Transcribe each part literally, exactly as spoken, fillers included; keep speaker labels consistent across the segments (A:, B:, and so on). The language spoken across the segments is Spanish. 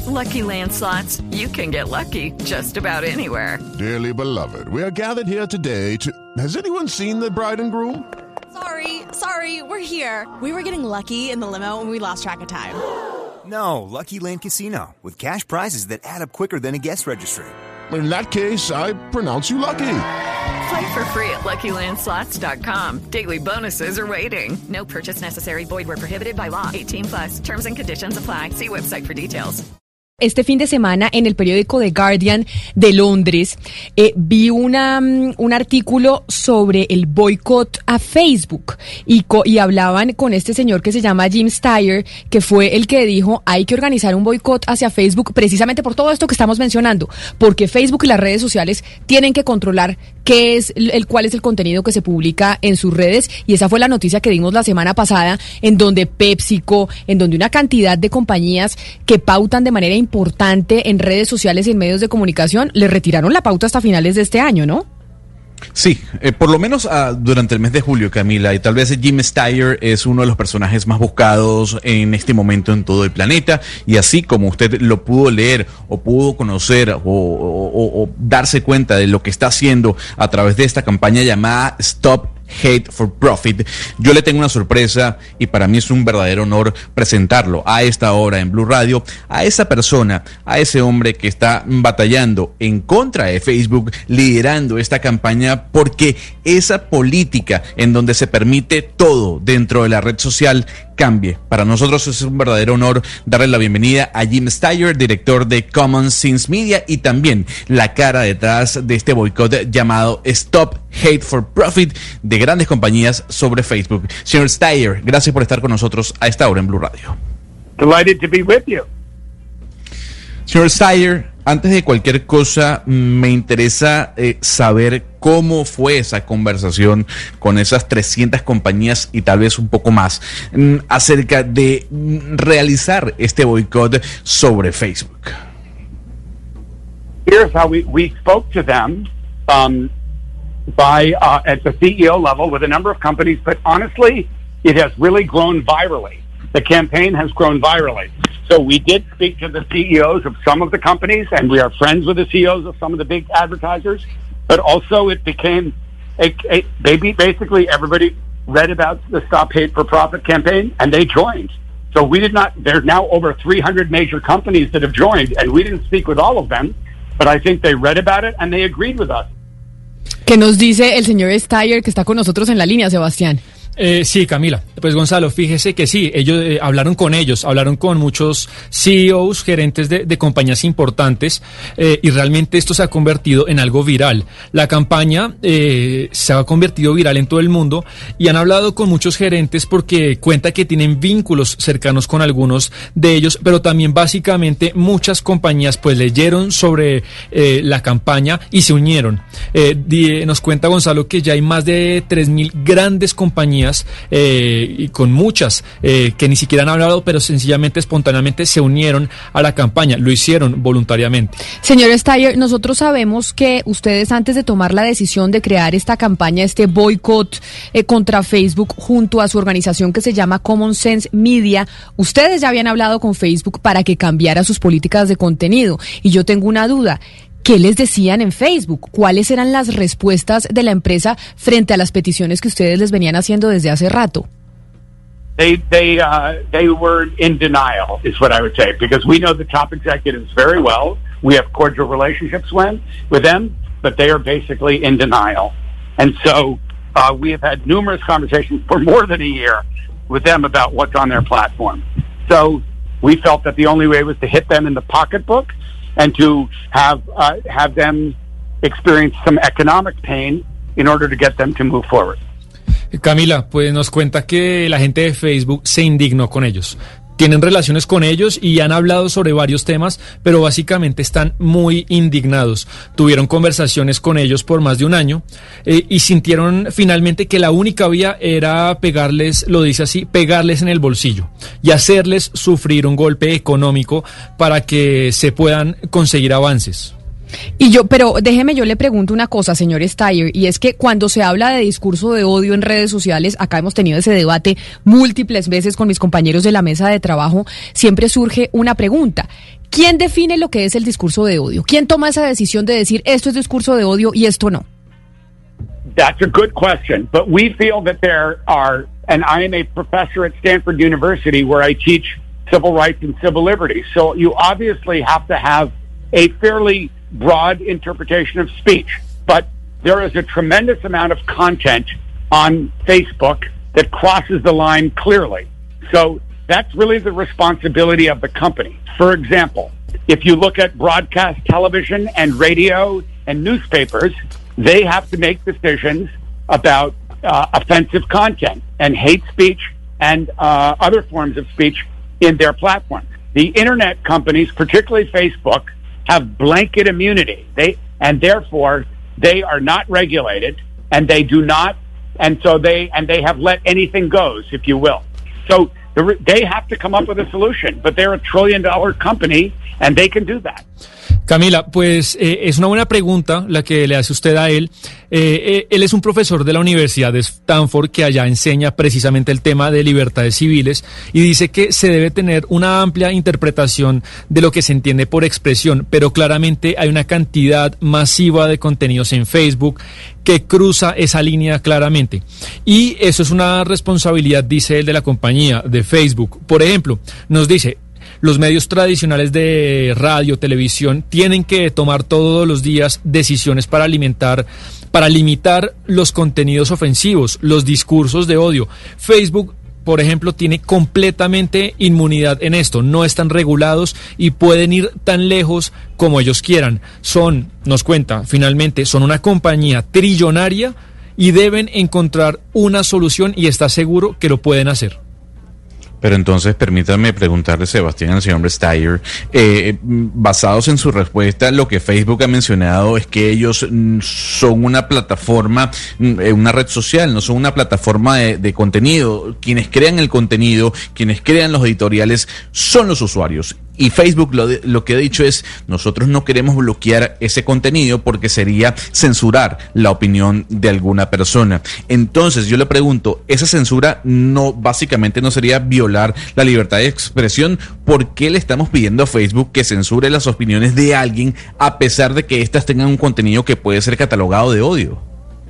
A: Lucky Land Slots, you can get lucky just about anywhere.
B: Dearly beloved, we are gathered here today to... Has anyone seen the bride and groom?
C: Sorry, sorry, we're here. We were getting lucky in the limo and we lost track of time.
D: No, Lucky Land Casino, with cash prizes that add up quicker than a guest registry.
B: In that case, I pronounce you lucky.
A: Play for free at Lucky Land Slots dot com. Daily bonuses are waiting. No purchase necessary. Void where prohibited by law. eighteen plus. Terms and conditions apply. See website for details.
E: Este fin de semana en el periódico The Guardian de Londres eh, vi una, um, un artículo sobre el boicot a Facebook y, co- y hablaban con este señor que se llama Jim Steyer, que fue el que dijo hay que organizar un boicot hacia Facebook precisamente por todo esto que estamos mencionando, porque Facebook y las redes sociales tienen que controlar qué es el, cuál es el contenido que se publica en sus redes, y esa fue la noticia que dimos la semana pasada, en donde PepsiCo, en donde una cantidad de compañías que pautan de manera importante en redes sociales y en medios de comunicación le retiraron la pauta hasta finales de este año, ¿no?
F: Sí, eh, por lo menos uh, durante el mes de julio, Camila, y tal vez Jim Steyer es uno de los personajes más buscados en este momento en todo el planeta, y así como usted lo pudo leer o pudo conocer o, o, o, o darse cuenta de lo que está haciendo a través de esta campaña llamada Stop Hate for Profit, yo le tengo una sorpresa y para mí es un verdadero honor presentarlo a esta hora en Blue Radio, a esa persona, a ese hombre que está batallando en contra de Facebook, liderando esta campaña porque esa política en donde se permite todo dentro de la red social cambie. Para nosotros es un verdadero honor darle la bienvenida a Jim Steyer, director de Common Sense Media y también la cara detrás de este boicot llamado Stop Hate for Profit de grandes compañías sobre Facebook. Señor Steyer, gracias por estar con nosotros a esta hora en Blue Radio.
G: Delighted to be with you.
F: Señor Steyer, antes de cualquier cosa, me interesa eh, saber cómo fue esa conversación con esas trescientas compañías y tal vez un poco más mm, acerca de mm, realizar este boicot sobre Facebook.
G: Here's how we, we spoke to them um, by uh, at the C E O level with a number of companies, but honestly, it has really grown virally. The campaign has grown virally. So we did speak to the C E Os of some of the companies, and we are friends with the C E Os of some of the big advertisers. But also it became a, a maybe basically everybody read about the Stop Hate for Profit campaign, and they joined. So we did not, there's now over three hundred major companies that have joined, and we didn't speak with all of them, but I think they read about it and they agreed with us.
E: ¿Qué nos dice el señor Steyer que está con nosotros en la línea, Sebastián?
H: Eh, sí, Camila. Pues Gonzalo, fíjese que sí, ellos eh, hablaron con ellos, hablaron con muchos C E Os, gerentes de, de compañías importantes, eh, y realmente esto se ha convertido en algo viral. La campaña eh, se ha convertido viral en todo el mundo y han hablado con muchos gerentes porque cuenta que tienen vínculos cercanos con algunos de ellos, pero también básicamente muchas compañías pues leyeron sobre eh, la campaña y se unieron. Eh, di, nos cuenta Gonzalo que ya hay más de tres mil grandes compañías Eh, y con muchas eh, que ni siquiera han hablado, pero sencillamente, espontáneamente se unieron a la campaña, lo hicieron voluntariamente.
E: Señor Steyer, nosotros sabemos que ustedes antes de tomar la decisión de crear esta campaña, este boicot eh, contra Facebook junto a su organización que se llama Common Sense Media, ustedes ya habían hablado con Facebook para que cambiara sus políticas de contenido, y yo tengo una duda. ¿Qué les decían en Facebook? ¿Cuáles eran las respuestas de la empresa frente a las peticiones que ustedes les venían haciendo desde hace rato?
G: They they uh, they were in denial, is what I would say, because we know the top executives very well. We have cordial relationships when, with them, but they are basically in denial. And so uh, we have had numerous conversations for more than a year with them about what's on their platform. So we felt that the only way was to hit them in the pocketbook and to have uh, have them experience some economic pain in order to get them to move forward.
H: Camila, pues nos cuenta que la gente de Facebook se indignó con ellos. Tienen relaciones con ellos y han hablado sobre varios temas, pero básicamente están muy indignados. Tuvieron conversaciones con ellos por más de un año eh, y sintieron finalmente que la única vía era pegarles, lo dice así, pegarles en el bolsillo y hacerles sufrir un golpe económico para que se puedan conseguir avances.
E: Y yo, pero déjeme, yo le pregunto una cosa, señor Steyer, y es que cuando se habla de discurso de odio en redes sociales, acá hemos tenido ese debate múltiples veces con mis compañeros de la mesa de trabajo, siempre surge una pregunta. ¿Quién define lo que es el discurso de odio? ¿Quién toma esa decisión de decir esto es discurso de odio y esto no?
G: That's a good question, but we feel that there are, and I am a professor at Stanford University where I teach civil rights and civil liberties. So you obviously have to have a fairly broad interpretation of speech, but there is a tremendous amount of content on Facebook that crosses the line clearly. So that's really the responsibility of the company. For example, if you look at broadcast television and radio and newspapers, they have to make decisions about uh, offensive content and hate speech and uh, other forms of speech in their platforms. The internet companies, particularly Facebook, have blanket immunity. They and therefore they are not regulated, and they do not, and so they and they have let anything goes, if you will. So the, they have to come up with a solution, but they're a trillion dollar company, and they can do that.
H: Camila, pues eh, es una buena pregunta la que le hace usted a él. Eh, eh, él es un profesor de la Universidad de Stanford que allá enseña precisamente el tema de libertades civiles y dice que se debe tener una amplia interpretación de lo que se entiende por expresión, pero claramente hay una cantidad masiva de contenidos en Facebook que cruza esa línea claramente. Y eso es una responsabilidad, dice él, de la compañía, de Facebook. Por ejemplo, nos dice: los medios tradicionales de radio, televisión, tienen que tomar todos los días decisiones para alimentar, para limitar los contenidos ofensivos, los discursos de odio. Facebook, por ejemplo, tiene completamente inmunidad en esto. No están regulados y pueden ir tan lejos como ellos quieran. Son, nos cuenta, finalmente, son una compañía trillonaria y deben encontrar una solución y está seguro que lo pueden hacer.
F: Pero entonces permítame preguntarle, Sebastián, al señor Steyer, eh, basados en su respuesta, lo que Facebook ha mencionado es que ellos mm, son una plataforma, mm, una red social, no son una plataforma de, de contenido. Quienes crean el contenido, quienes crean los editoriales, son los usuarios. Y Facebook lo, de, lo que ha dicho es: nosotros no queremos bloquear ese contenido porque sería censurar la opinión de alguna persona. Entonces yo le pregunto, ¿esa censura no básicamente no sería violar la libertad de expresión? ¿Por qué le estamos pidiendo a Facebook que censure las opiniones de alguien a pesar de que éstas tengan un contenido que puede ser catalogado de odio?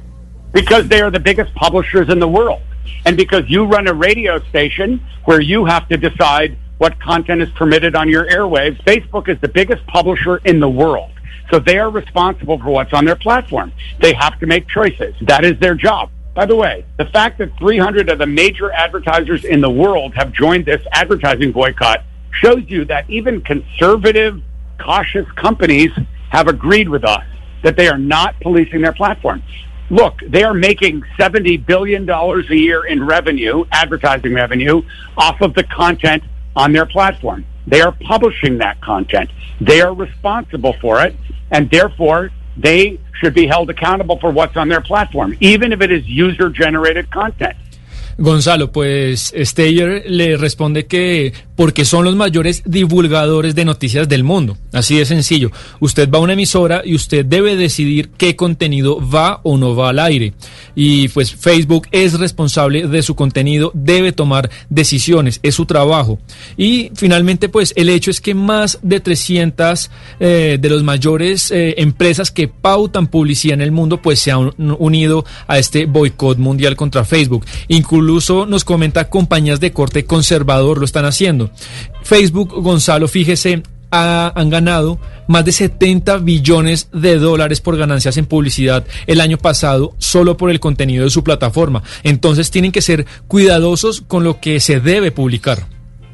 G: Because they are the biggest publishers in the world. And because you run a radio station where you have to decide what content is permitted on your airwaves. Facebook is the biggest publisher in the world. So they are responsible for what's on their platform. They have to make choices. That is their job. By the way, the fact that three hundred of the major advertisers in the world have joined this advertising boycott shows you that even conservative, cautious companies have agreed with us that they are not policing their platform. Look, they are making seventy billion dollars a year in revenue, advertising revenue, off of the content on their platform. They are publishing that content. They are responsible for it, and therefore they should be held accountable for what's on their platform, even if it is user-generated content.
H: Gonzalo, pues Steyer le responde que porque son los mayores divulgadores de noticias del mundo. Así de sencillo. Usted va a una emisora y usted debe decidir qué contenido va o no va al aire. Y pues Facebook es responsable de su contenido, debe tomar decisiones, es su trabajo. Y finalmente, pues el hecho es que más de trescientas eh, de las mayores eh, empresas que pautan publicidad en el mundo, pues se han unido a este boicot mundial contra Facebook. Incluso Incluso nos comenta compañías de corte conservador lo están haciendo. Facebook, Gonzalo, fíjese, ha, han ganado más de setenta billones de dólares por ganancias en publicidad el año pasado solo por el contenido de su plataforma. Entonces tienen que ser cuidadosos con lo que se debe publicar.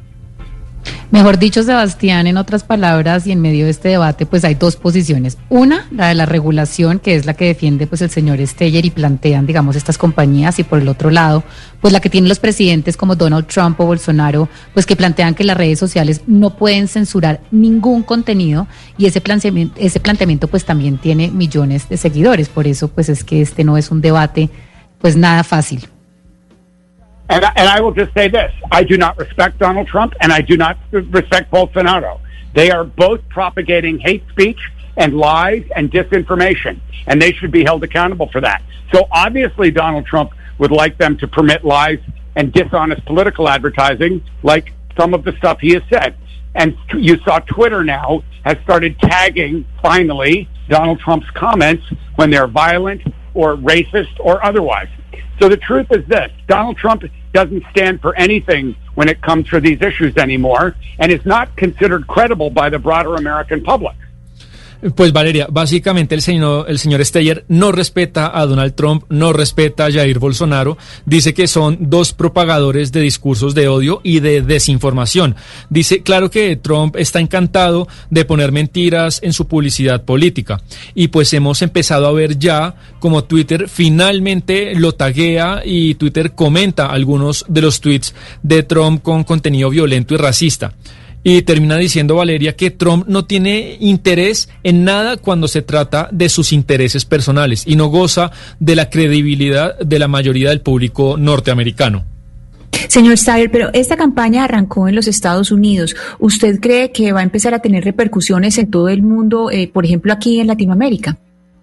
I: Mejor dicho, Sebastián, en otras palabras, y en medio de este debate, pues hay dos posiciones. Una, la de la regulación, que es la que defiende pues el señor Steyer y plantean, digamos, estas compañías, y por el otro lado, pues la que tienen los presidentes como Donald Trump o Bolsonaro, pues que plantean que las redes sociales no pueden censurar ningún contenido, y ese planteamiento, ese planteamiento pues también tiene millones de seguidores. Por eso pues es que este no es un debate pues nada fácil.
G: And I, and I will just say this, I do not respect Donald Trump and I do not respect Bolsonaro. They are both propagating hate speech and lies and disinformation, and they should be held accountable for that. So obviously Donald Trump would like them to permit lies and dishonest political advertising like some of the stuff he has said. and you saw Twitter now has started tagging, finally, Donald Trump's comments when they're violent or racist or otherwise. So the truth is this, Donald Trump doesn't stand for anything when it comes to these issues anymore and is not considered credible by the broader American public.
H: Pues Valeria, básicamente el señor, el señor Steyer no respeta a Donald Trump, no respeta a Jair Bolsonaro, dice que son dos propagadores de discursos de odio y de desinformación. Dice, claro que Trump está encantado de poner mentiras en su publicidad política y pues hemos empezado a ver ya como Twitter finalmente lo taguea y Twitter comenta algunos de los tweets de Trump con contenido violento y racista. Y termina diciendo Valeria que Trump no tiene interés en nada cuando se trata de sus intereses personales y no goza de la credibilidad de la mayoría del público norteamericano.
J: Señor Steyer, pero esta campaña arrancó en los Estados Unidos. ¿Usted cree que va a empezar a tener repercusiones en todo el mundo, eh, por ejemplo aquí en Latinoamérica?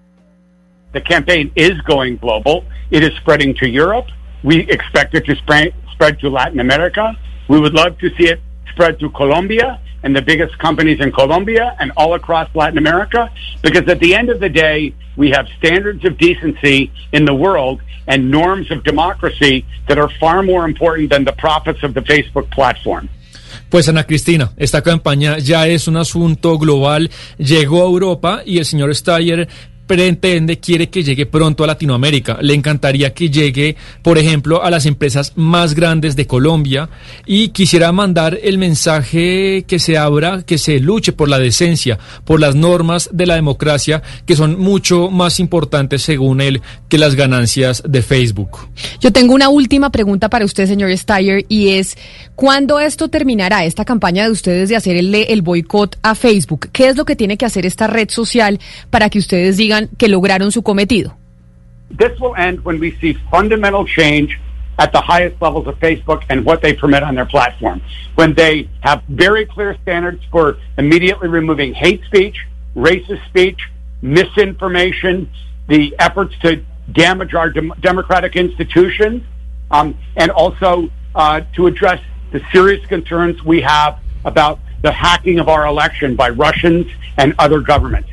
G: The campaign is going global. It is spreading to Europe. We expect it to spread, spread to Latin America. We would love to see it spread to Colombia and the biggest companies in Colombia and all across Latin America, because at the end of the day, we have standards of decency in the world and norms of democracy that are far more important than the profits of the Facebook platform.
H: Pues Ana Cristina, esta campaña ya es un asunto global, llegó a Europa y el señor Steyer pretende, quiere que llegue pronto a Latinoamérica. Le encantaría que llegue, por ejemplo, a las empresas más grandes de Colombia y quisiera mandar el mensaje que se abra, que se luche por la decencia, por las normas de la democracia, que son mucho más importantes, según él, que las ganancias de Facebook.
E: Yo tengo una última pregunta para usted, señor Steyer, y es, ¿cuándo esto terminará, esta campaña de ustedes de hacer el, el boicot a Facebook? ¿Qué es lo que tiene que hacer esta red social para que ustedes digan que lograron su cometido?
G: This will end when we see fundamental change at the highest levels of Facebook and what they permit on their platform. When they have very clear standards for immediately removing hate speech, racist speech, misinformation, the efforts to damage our dem- democratic institutions, um, and also uh, to address the serious concerns we have about the hacking of our election by Russians and other governments.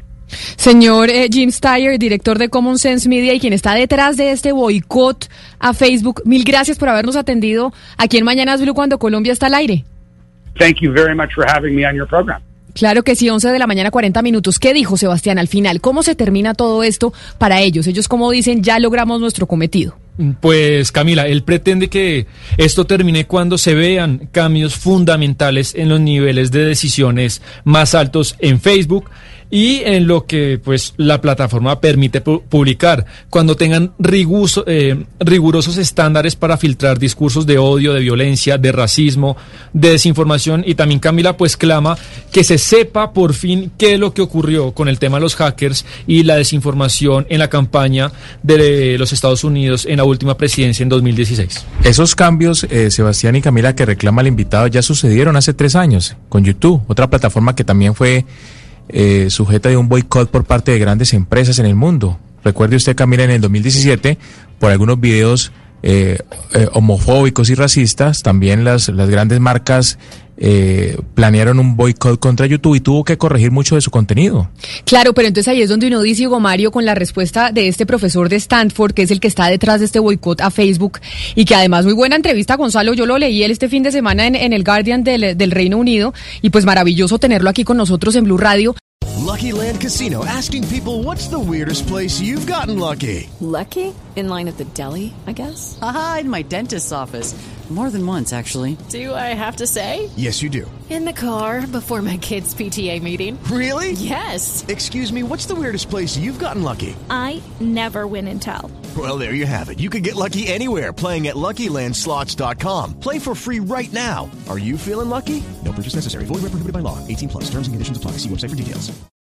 E: Señor eh, Jim Steyer, director de Common Sense Media y quien está detrás de este boicot a Facebook, mil gracias por habernos atendido aquí en Mañanas Blue cuando Colombia está al aire.
G: Thank you very much for having me on your program.
E: Claro que sí, once de la mañana, cuarenta minutos. ¿Qué dijo Sebastián al final? ¿Cómo se termina todo esto para ellos? Ellos, como dicen, ya logramos nuestro cometido.
H: Pues Camila, él pretende que esto termine cuando se vean cambios fundamentales en los niveles de decisiones más altos en Facebook y en lo que pues la plataforma permite pu- publicar, cuando tengan riguso, eh, rigurosos estándares para filtrar discursos de odio, de violencia, de racismo, de desinformación. Y también Camila pues clama que se sepa por fin qué es lo que ocurrió con el tema de los hackers y la desinformación en la campaña de los Estados Unidos en la última presidencia en dos mil dieciséis.
K: Esos cambios, eh, Sebastián y Camila, que reclama el invitado, ya sucedieron hace tres años con YouTube, otra plataforma que también fue eh, sujeta de un boicot por parte de grandes empresas en el mundo. Recuerde usted, Camila, en el dos mil diecisiete, por algunos videos eh, eh, homofóbicos y racistas, también las, las grandes marcas Eh, planearon un boicot contra YouTube y tuvo que corregir mucho de su contenido.
E: Claro, pero entonces ahí es donde uno dice, Hugo Mario, con la respuesta de este profesor de Stanford, que es el que está detrás de este boicot a Facebook, y que además muy buena entrevista, Gonzalo, yo lo leí él este fin de semana en, en el Guardian del, del Reino Unido, y pues maravilloso tenerlo aquí con nosotros en Blue Radio.
L: Lucky Land Casino, asking people, what's the weirdest place you've gotten lucky?
M: Lucky? In line at the deli, I guess?
N: Aha, in my dentist's office. More than once, actually.
M: Do I have to say?
L: Yes, you do.
M: In the car before my kids' P T A meeting.
L: Really?
M: Yes.
L: Excuse me, what's the weirdest place you've gotten lucky?
O: I never win and tell.
L: Well, there you have it. You can get lucky anywhere, playing at Lucky Land Slots dot com. Play for free right now. Are you feeling lucky? No purchase necessary. Void where prohibited by law. eighteen plus. Terms and conditions apply. See website for details.